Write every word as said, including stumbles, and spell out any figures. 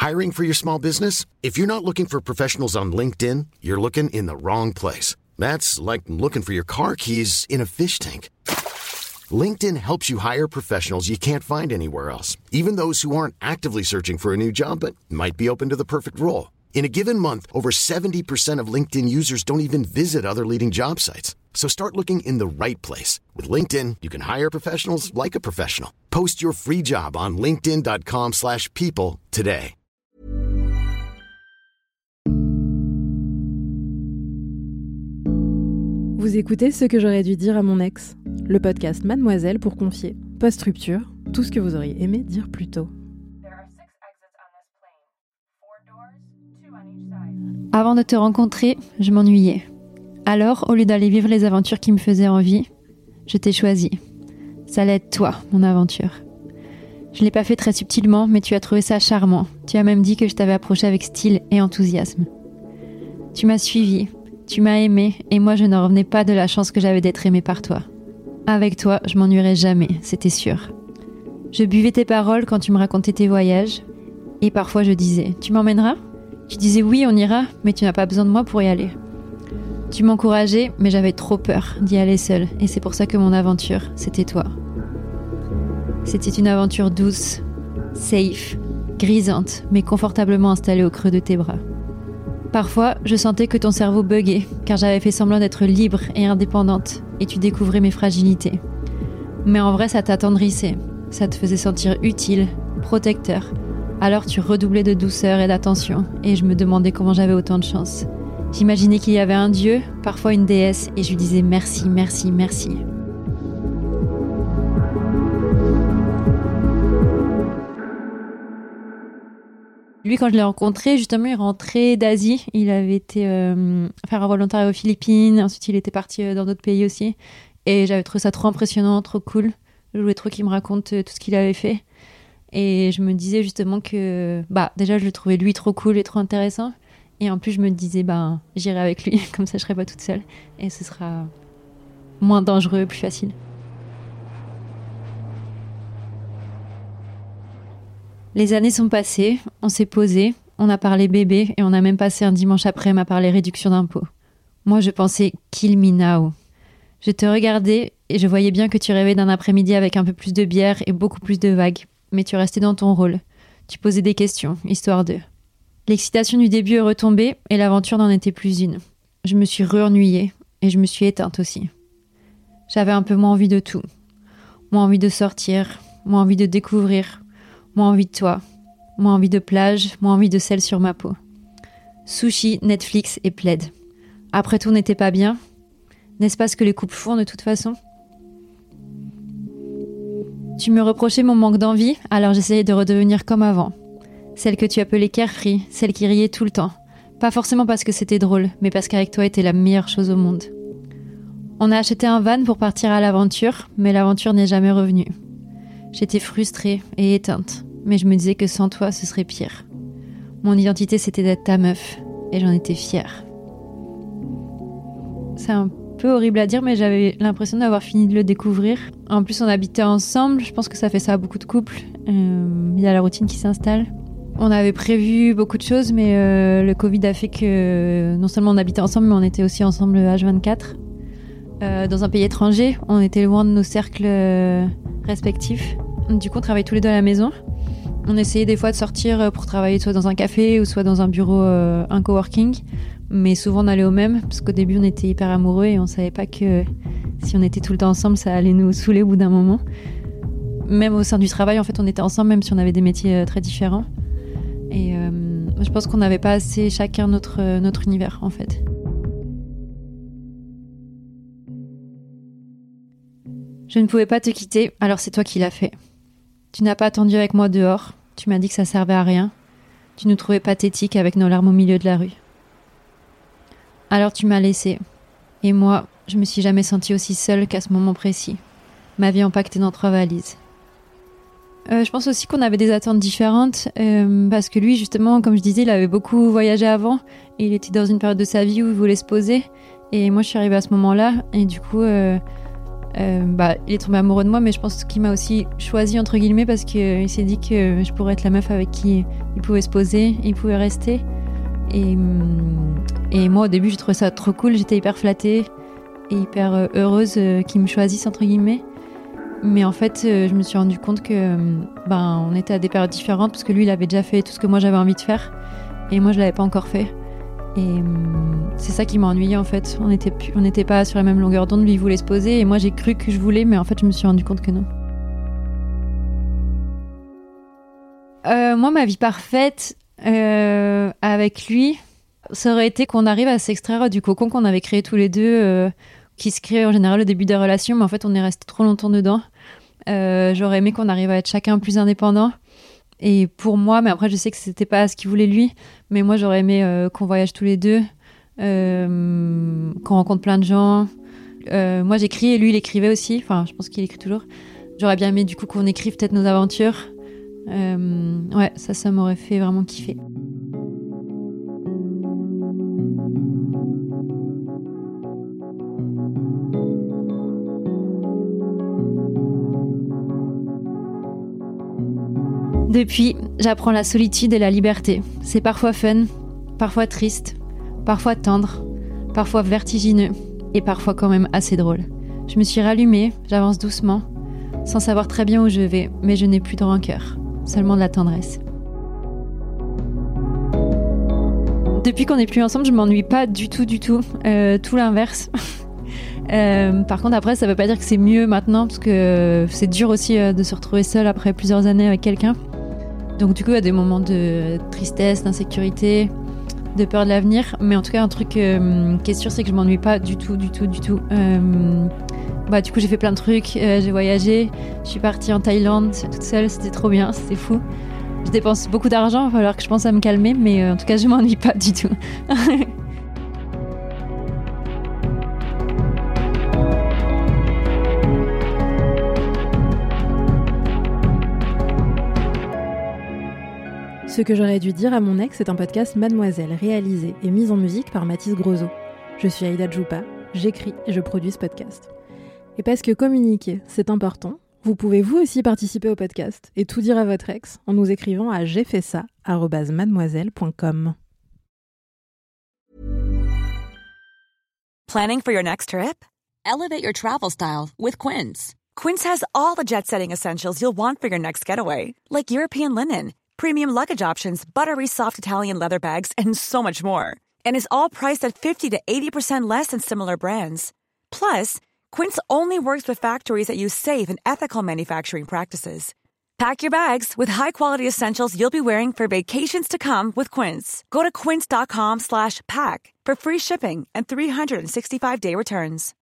Hiring for your small business? If you're not looking for professionals on LinkedIn, you're looking in the wrong place. That's like looking for your car keys in a fish tank. LinkedIn helps you hire professionals you can't find anywhere else, even those who aren't actively searching for a new job but might be open to the perfect role. In a given month, over seventy percent of LinkedIn users don't even visit other leading job sites. So start looking in the right place. With LinkedIn, you can hire professionals like a professional. Post your free job on linkedin.com slash people today. Vous écoutez Ce que j'aurais dû dire à mon ex, le podcast Mademoiselle pour confier, post-rupture, tout ce que vous auriez aimé dire plus tôt. Avant de te rencontrer, je m'ennuyais. Alors, au lieu d'aller vivre les aventures qui me faisaient envie, je t'ai choisi. Ça allait être toi, mon aventure. Je l'ai pas fait très subtilement, mais tu as trouvé ça charmant. Tu as même dit que je t'avais approché avec style et enthousiasme. Tu m'as suivi, tu m'as aimé, et moi je n'en revenais pas de la chance que j'avais d'être aimée par toi. Avec toi, je m'ennuierais jamais, c'était sûr. Je buvais tes paroles quand tu me racontais tes voyages, et parfois je disais « Tu m'emmèneras ?» Tu disais « Oui, on ira, mais tu n'as pas besoin de moi pour y aller. » Tu m'encourageais, mais j'avais trop peur d'y aller seule, et c'est pour ça que mon aventure, c'était toi. C'était une aventure douce, safe, grisante, mais confortablement installée au creux de tes bras. Parfois, je sentais que ton cerveau buguait, car j'avais fait semblant d'être libre et indépendante, et tu découvrais mes fragilités. Mais en vrai, ça t'attendrissait, ça te faisait sentir utile, protecteur. Alors tu redoublais de douceur et d'attention, et je me demandais comment j'avais autant de chance. J'imaginais qu'il y avait un dieu, parfois une déesse, et je lui disais merci, merci, merci. Lui, quand je l'ai rencontré, justement, il rentrait d'Asie. Il avait été euh, faire un volontariat aux Philippines. Ensuite, il était parti dans d'autres pays aussi. Et j'avais trouvé ça trop impressionnant, trop cool. Je voulais trop qu'il me raconte tout ce qu'il avait fait. Et je me disais justement que... Bah, déjà, je le trouvais lui trop cool et trop intéressant. Et en plus, je me disais, bah, j'irai avec lui. Comme ça, je serai pas toute seule. Et ce sera moins dangereux, plus facile. Les années sont passées, on s'est posé, on a parlé bébé et on a même passé un dimanche après-midi à parler réduction d'impôts. Moi, je pensais « kill me now ». Je te regardais et je voyais bien que tu rêvais d'un après-midi avec un peu plus de bière et beaucoup plus de vagues. Mais tu restais dans ton rôle. Tu posais des questions, histoire de... L'excitation du début est retombée et l'aventure n'en était plus une. Je me suis re-ennuyée et je me suis éteinte aussi. J'avais un peu moins envie de tout. Moins envie de sortir, moins envie de découvrir... Moins envie de toi, moins envie de plage, moins envie de sel sur ma peau. Sushi, Netflix et plaid. Après tout, n'était pas bien. N'est-ce pas ce que les couples font de toute façon ? Tu me reprochais mon manque d'envie, alors j'essayais de redevenir comme avant. Celle que tu appelais carefree, celle qui riait tout le temps. Pas forcément parce que c'était drôle, mais parce qu'avec toi était la meilleure chose au monde. On a acheté un van pour partir à l'aventure, mais l'aventure n'est jamais revenue. J'étais frustrée et éteinte, mais je me disais que sans toi, ce serait pire. Mon identité, c'était d'être ta meuf, et j'en étais fière. C'est un peu horrible à dire, mais j'avais l'impression d'avoir fini de le découvrir. En plus, on habitait ensemble, je pense que ça fait ça à beaucoup de couples. Euh, il y a la routine qui s'installe. On avait prévu beaucoup de choses, mais euh, le Covid a fait que non seulement on habitait ensemble, mais on était aussi ensemble H vingt-quatre. Euh, dans un pays étranger, on était loin de nos cercles euh, respectifs. Du coup, on travaillait tous les deux à la maison. On essayait des fois de sortir pour travailler soit dans un café ou soit dans un bureau, euh, un coworking. Mais souvent, on allait au même, parce qu'au début, on était hyper amoureux et on savait pas que si on était tout le temps ensemble, ça allait nous saouler au bout d'un moment. Même au sein du travail, en fait, on était ensemble, même si on avait des métiers euh, très différents. Et euh, je pense qu'on n'avait pas assez chacun notre, notre univers, en fait. Je ne pouvais pas te quitter, alors c'est toi qui l'as fait. Tu n'as pas attendu avec moi dehors, tu m'as dit que ça servait à rien. Tu nous trouvais pathétiques avec nos larmes au milieu de la rue. Alors tu m'as laissée. Et moi, je me suis jamais sentie aussi seule qu'à ce moment précis. Ma vie empaquetée dans trois valises. Euh, je pense aussi qu'on avait des attentes différentes, euh, parce que lui, justement, comme je disais, il avait beaucoup voyagé avant, et il était dans une période de sa vie où il voulait se poser, et moi je suis arrivée à ce moment-là, et du coup... Euh, euh, bah, il est tombé amoureux de moi, mais je pense qu'il m'a aussi choisi entre guillemets parce qu'il euh, s'est dit que je pourrais être la meuf avec qui il pouvait se poser, il pouvait rester. Et, et moi au début j'ai trouvé ça trop cool, j'étais hyper flattée et hyper heureuse euh, qu'il me choisisse entre guillemets. Mais en fait, euh, je me suis rendu compte que euh, ben, on était à des périodes différentes parce que lui, il avait déjà fait tout ce que moi j'avais envie de faire et moi, je l'avais pas encore fait. Et euh, c'est ça qui m'a ennuyée en fait. On n'était on n'était pas sur la même longueur d'onde. Lui, il voulait se poser et moi, j'ai cru que je voulais, mais en fait, je me suis rendu compte que non. Euh, moi, ma vie parfaite euh, avec lui, ça aurait été qu'on arrive à s'extraire du cocon qu'on avait créé tous les deux, euh, qui se crée en général au début des relations, mais en fait, on est resté trop longtemps dedans. Euh, j'aurais aimé qu'on arrive à être chacun plus indépendant. Et pour moi, mais après, je sais que c'était pas ce qu'il voulait lui, mais moi, j'aurais aimé euh, qu'on voyage tous les deux, euh, qu'on rencontre plein de gens. Euh, moi, j'écris et lui, il écrivait aussi. Enfin, je pense qu'il écrit toujours. J'aurais bien aimé, du coup, qu'on écrive peut-être nos aventures. Euh, ouais, ça, ça m'aurait fait vraiment kiffer. Depuis, j'apprends la solitude et la liberté. C'est parfois fun, parfois triste, parfois tendre, parfois vertigineux et parfois quand même assez drôle. Je me suis rallumée, j'avance doucement, sans savoir très bien où je vais, mais je n'ai plus de rancœur, seulement de la tendresse. Depuis qu'on n'est plus ensemble, je m'ennuie pas du tout, du tout, euh, tout l'inverse. Euh, par contre, après, ça veut pas dire que c'est mieux maintenant, parce que c'est dur aussi euh, de se retrouver seul après plusieurs années avec quelqu'un. Donc du coup, il y a des moments de tristesse, d'insécurité, de peur de l'avenir. Mais en tout cas, un truc euh, qui est sûr, c'est que je m'ennuie pas du tout, du tout, du tout. Euh, bah, du coup, j'ai fait plein de trucs, euh, j'ai voyagé, je suis partie en Thaïlande toute seule, c'était trop bien, c'était fou. Je dépense beaucoup d'argent, il va falloir que je pense à me calmer, mais euh, en tout cas, je m'ennuie pas du tout. Ce que j'aurais dû dire à mon ex est un podcast Mademoiselle, réalisé et mis en musique par Mathis Grosso. Je suis Aïda Djoupa, j'écris et je produis ce podcast. Et parce que communiquer, c'est important, vous pouvez vous aussi participer au podcast et tout dire à votre ex en nous écrivant à j'ai fait ça arobase mademoiselle point com. Planning for your next trip? Elevate your travel style with Quince. Quince has all the jet-setting essentials you'll want for your next getaway, like European linen, premium luggage options, buttery soft Italian leather bags, and so much more. And is all priced at fifty to eighty percent less than similar brands. Plus, Quince only works with factories that use safe and ethical manufacturing practices. Pack your bags with high-quality essentials you'll be wearing for vacations to come with Quince. Go to quince.com slash pack for free shipping and three sixty-five day returns.